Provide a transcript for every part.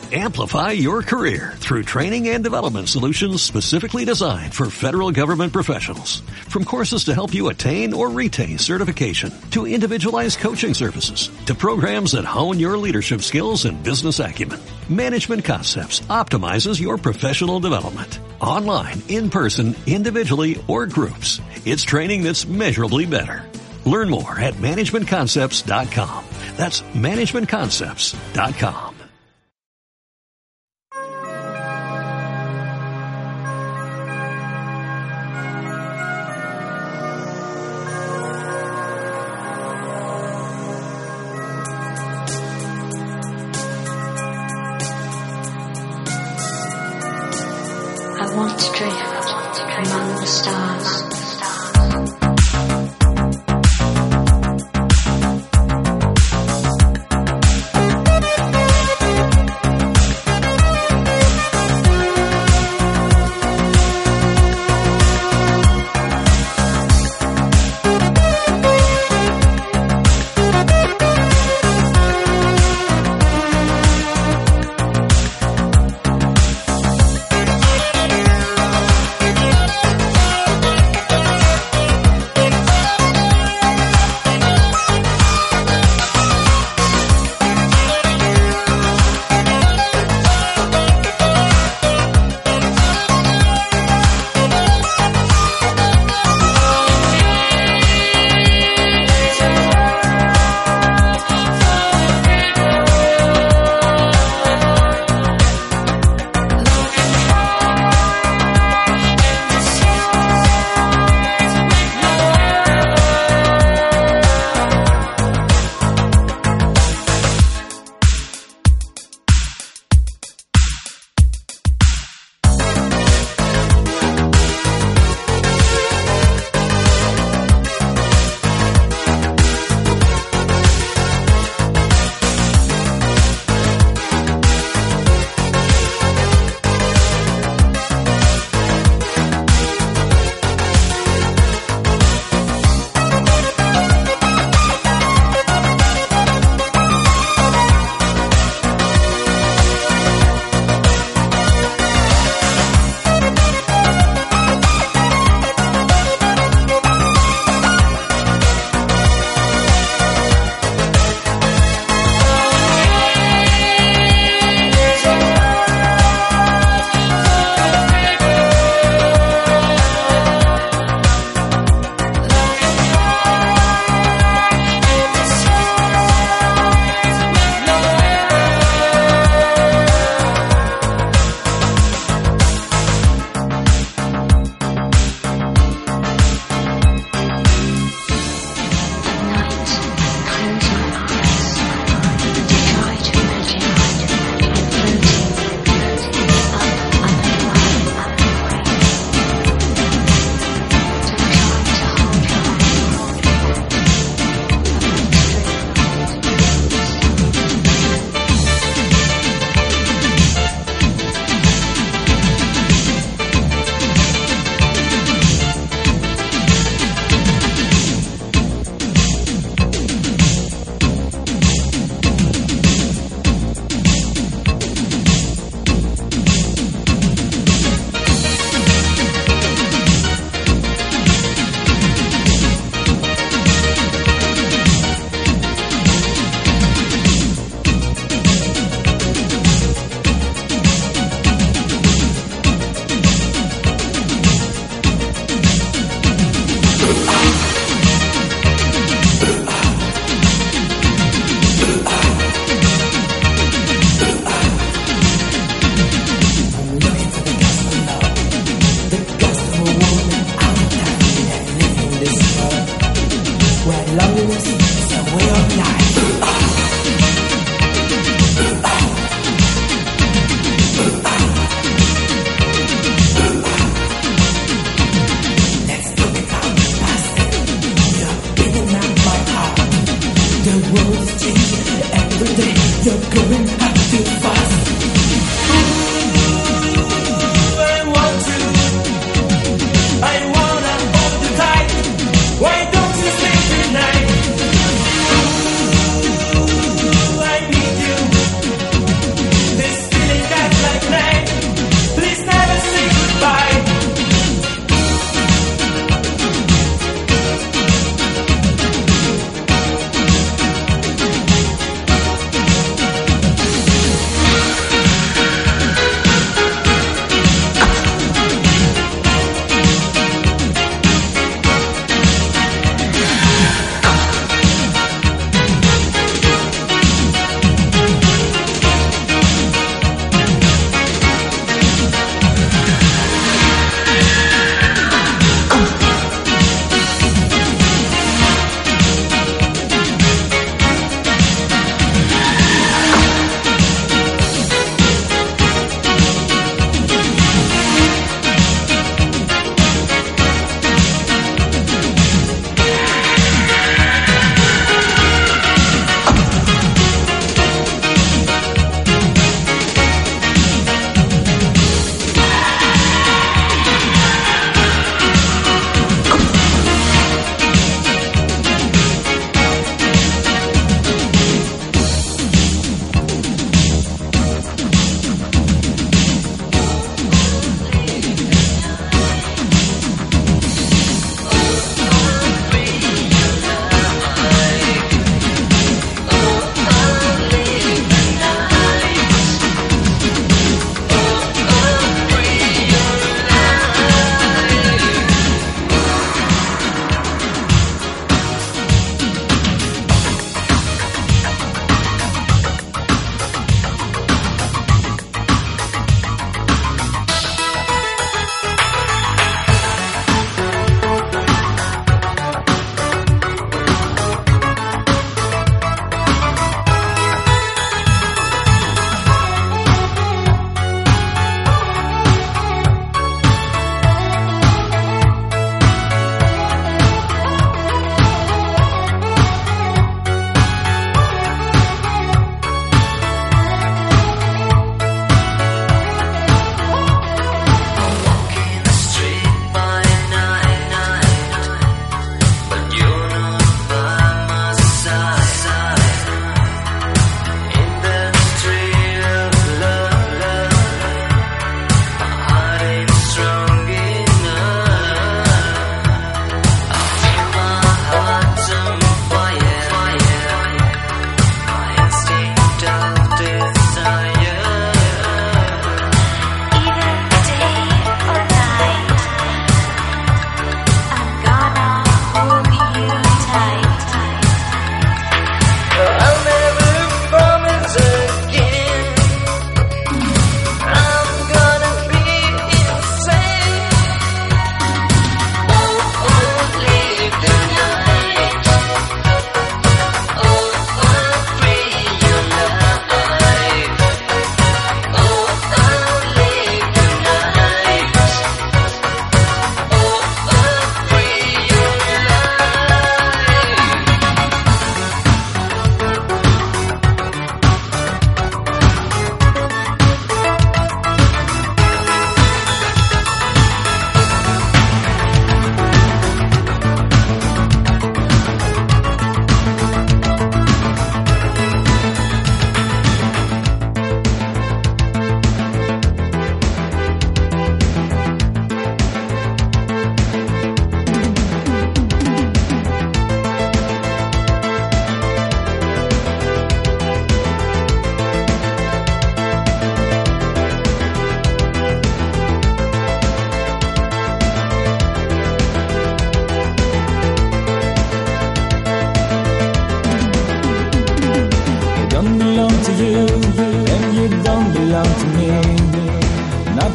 Amplify your career through training and development solutions specifically designed for federal government professionals. From courses to help you attain or retain certification, to individualized coaching services, to programs that hone your leadership skills and business acumen, Management Concepts optimizes your professional development. Online, in person, individually, or groups, it's training that's measurably better. Learn more at managementconcepts.com. That's managementconcepts.com. I want to drift among the stars.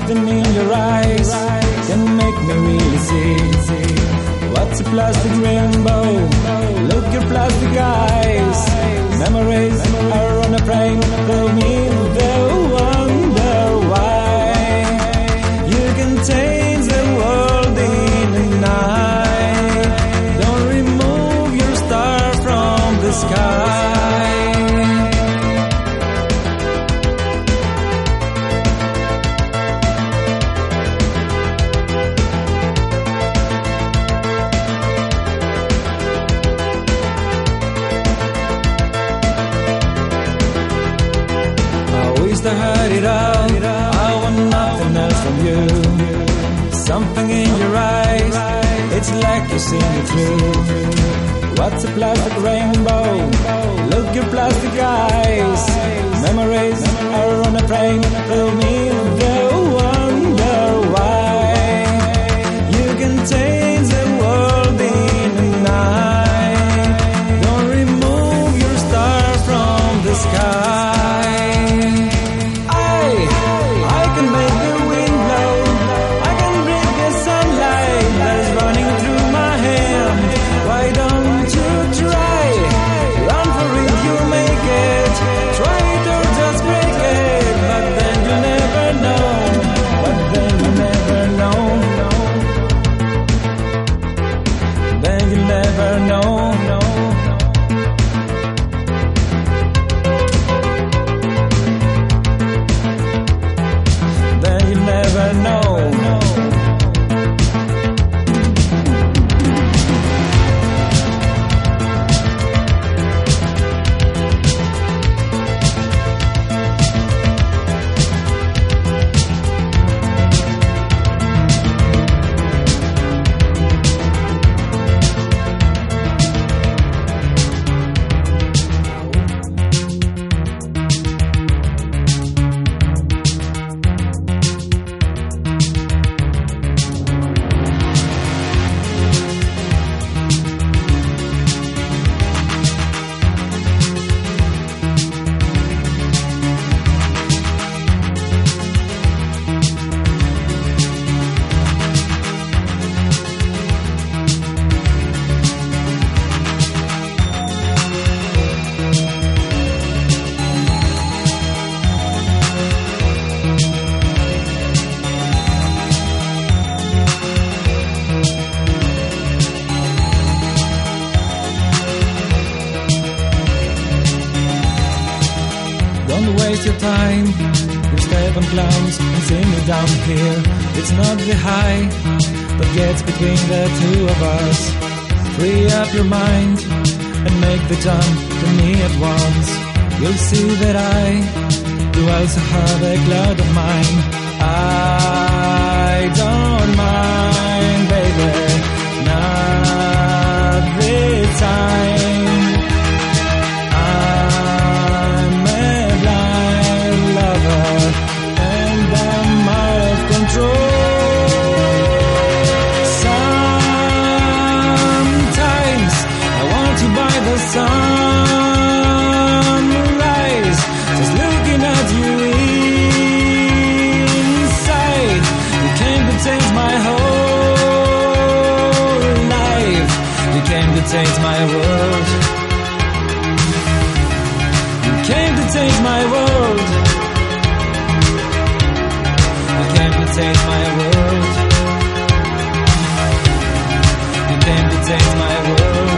Something in your eyes can make me really see what's a plastic rainbow. Look your plastic eyes. Memories are on a plane. They'll mean they'll wonder why. You can change the world in a night. Don't remove your star from the sky. I heard it all. I want nothing else from you. Something in your eyes, it's like you see me through. What's a plastic rainbow? Look your plastic eyes. Memories are on a plane. Tell me they'll wonder why. You can change the world in a night. Don't remove your star from the sky. Waste your time, you step on clowns and see me down here. It's not the high that gets between the two of us. Free up your mind and make the jump to me at once. You'll see that I do also have a cloud of mine. I don't mind, baby, not this time. Sometimes I want to buy the sunrise, just looking at you inside. You came to change my whole life. You came to change my world. You came to change my world. You came to change my world. You came to change my world.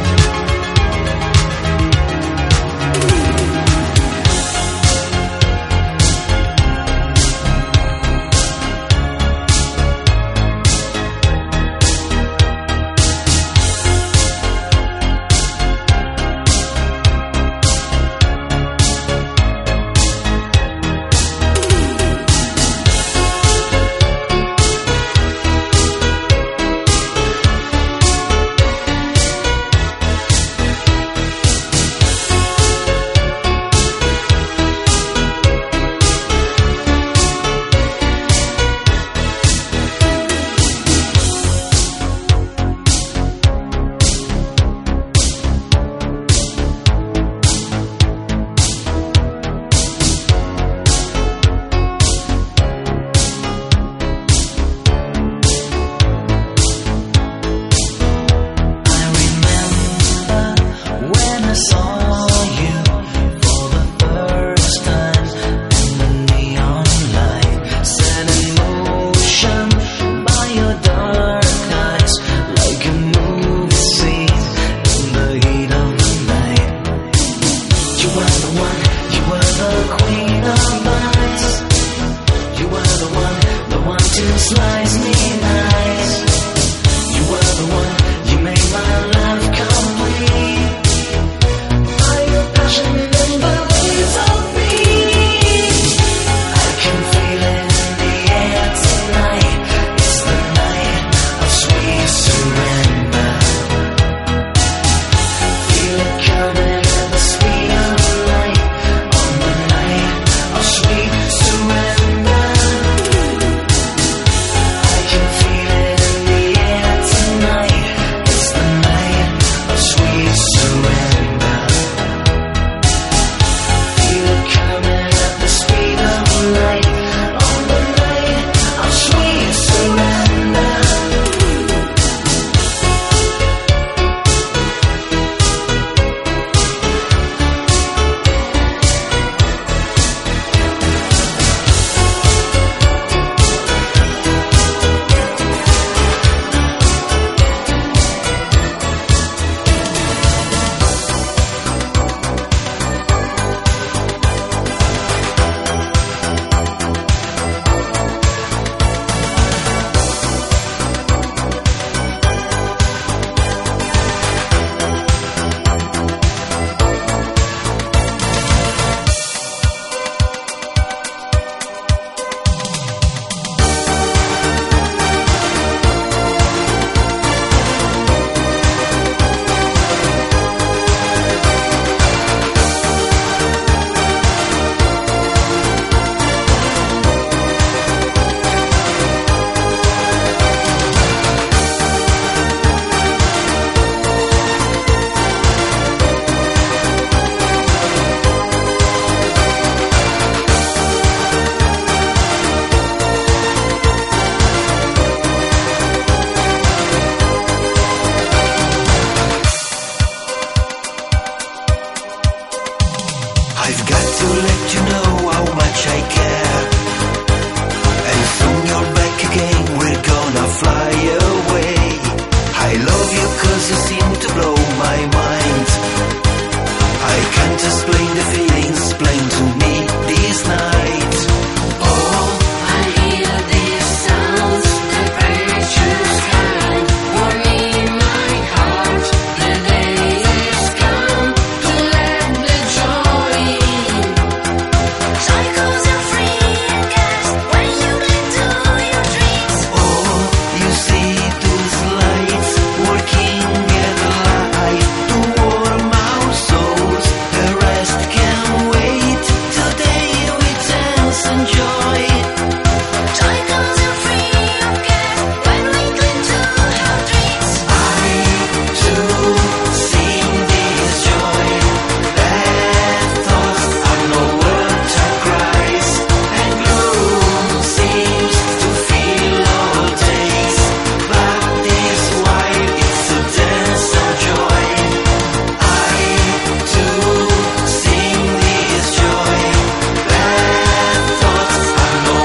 know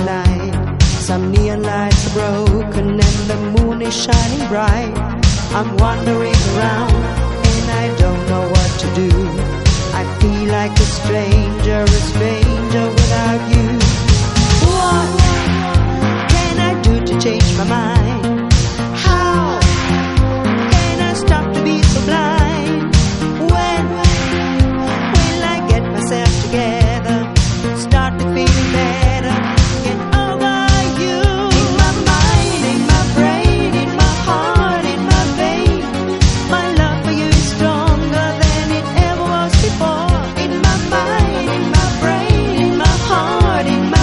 night. Some neon lights are broken and the moon is shining bright. I'm wandering around and I don't know what to do. I feel like a stranger without you. What can I do to change my mind? How can I stop to be so blind? When will I get myself together? Start to feel better. Get over you. In my mind, in my brain, in my heart, in my vein, my love for you is stronger than it ever was before. In my mind, in my brain, in my heart, in my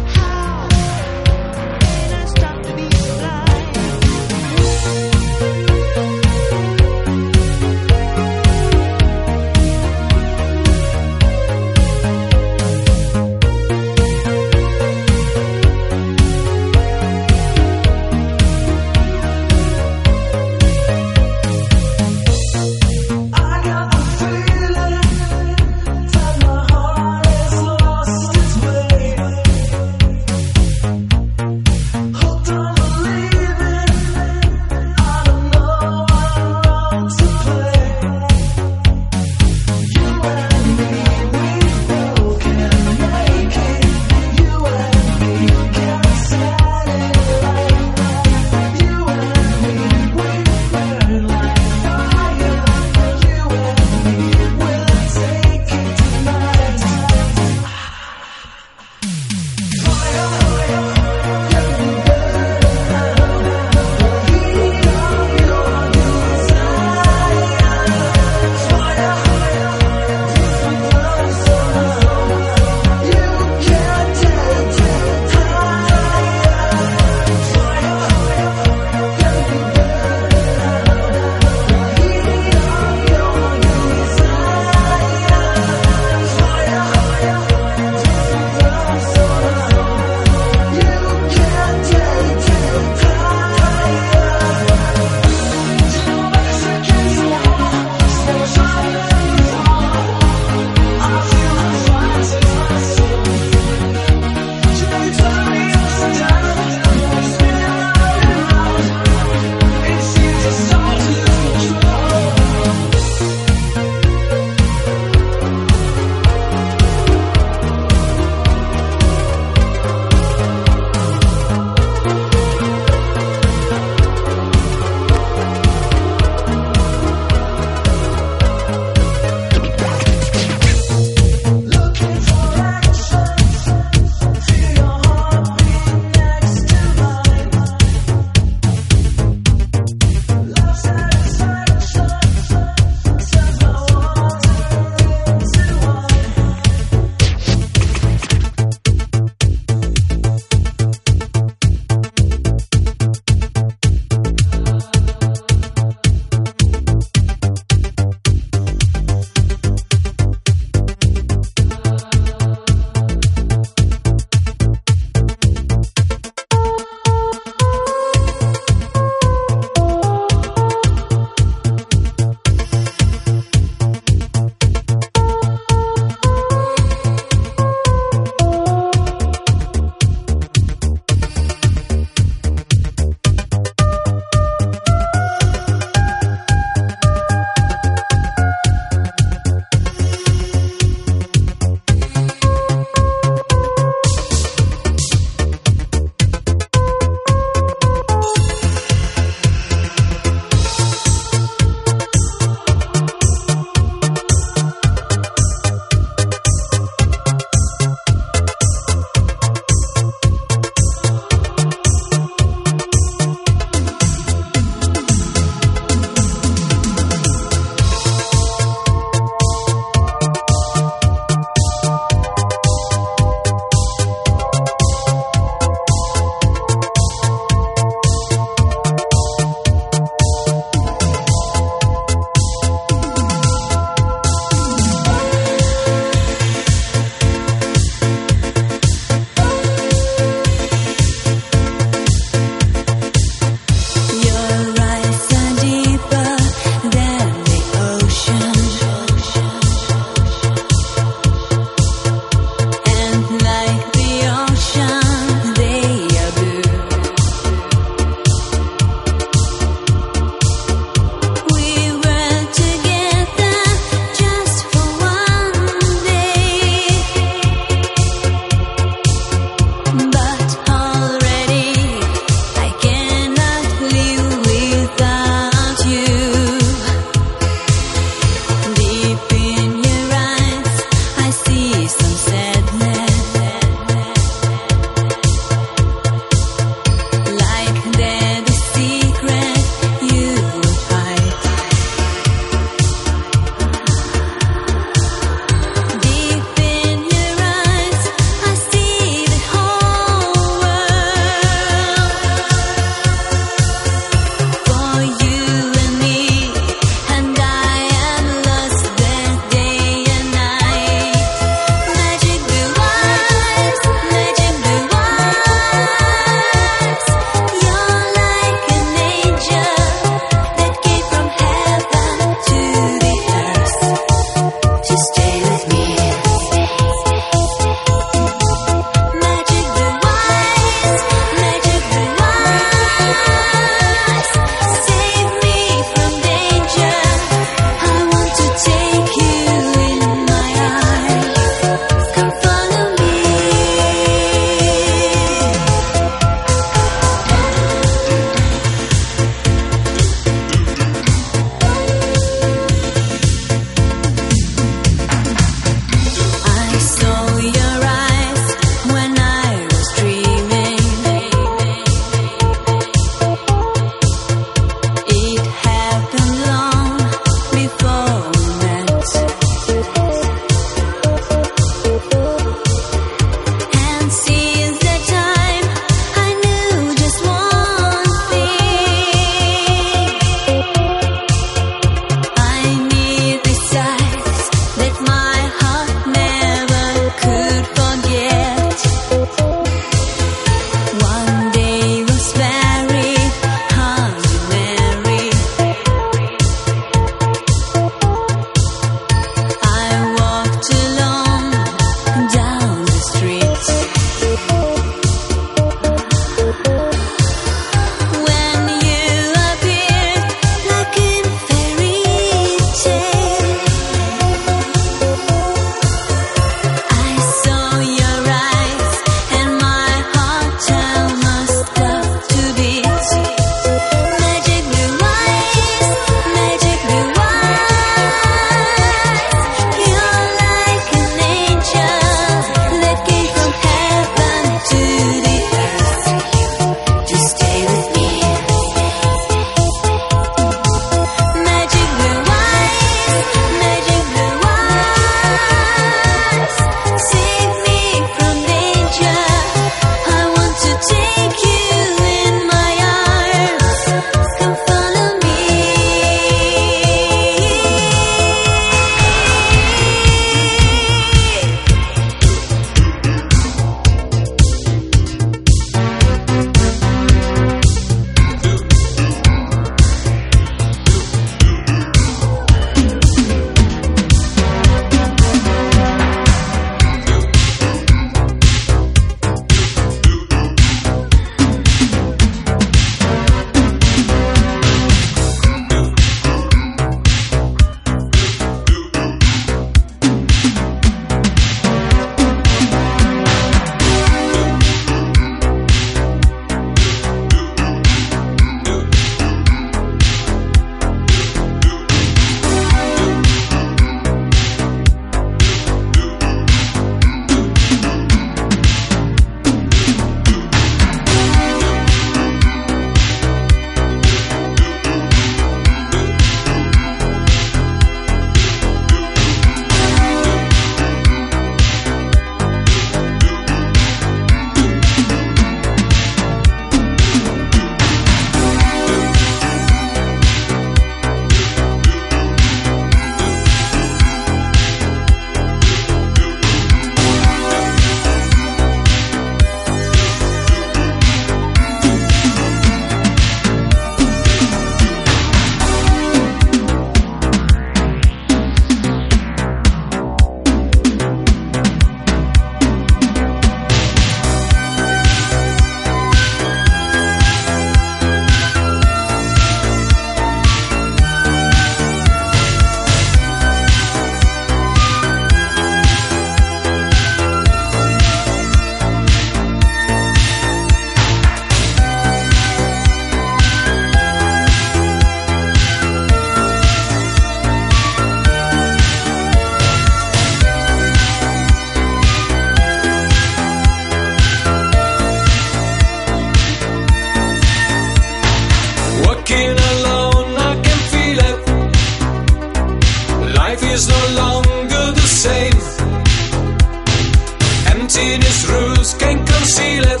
it.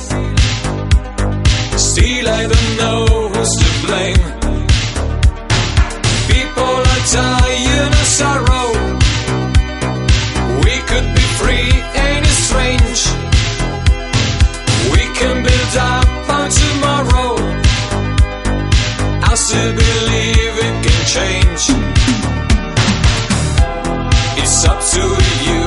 Still I don't know who's to blame. People are dying of sorrow. We could be free, ain't it strange? We can build up on tomorrow. I still believe it can change. It's up to you.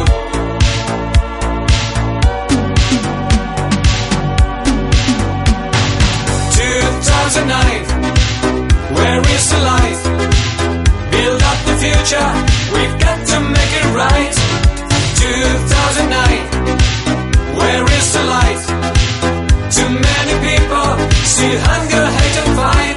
2009, where is the light? Build up the future, we've got to make it right. 2009, where is the light? Too many people still hunger, hate and fight.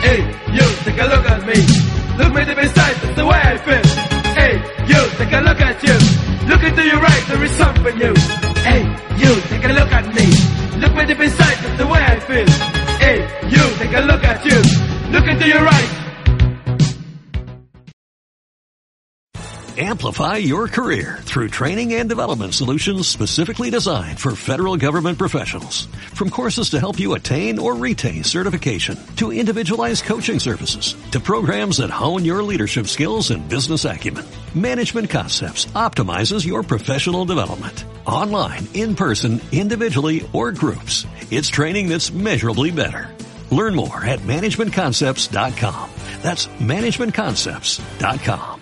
Hey, you, take a look at me. Look me deep inside, that's the way I feel. Hey, you, take a look at you. Look into your right, there is something new. Hey, you, take a look at me. Look me deep inside, that's the way I feel. Hey, you, take a look at you. Look into your right. Amplify your career through training and development solutions specifically designed for federal government professionals. From courses to help you attain or retain certification, to individualized coaching services, to programs that hone your leadership skills and business acumen, Management Concepts optimizes your professional development. Online, in person, individually, or groups, it's training that's measurably better. Learn more at managementconcepts.com. That's managementconcepts.com.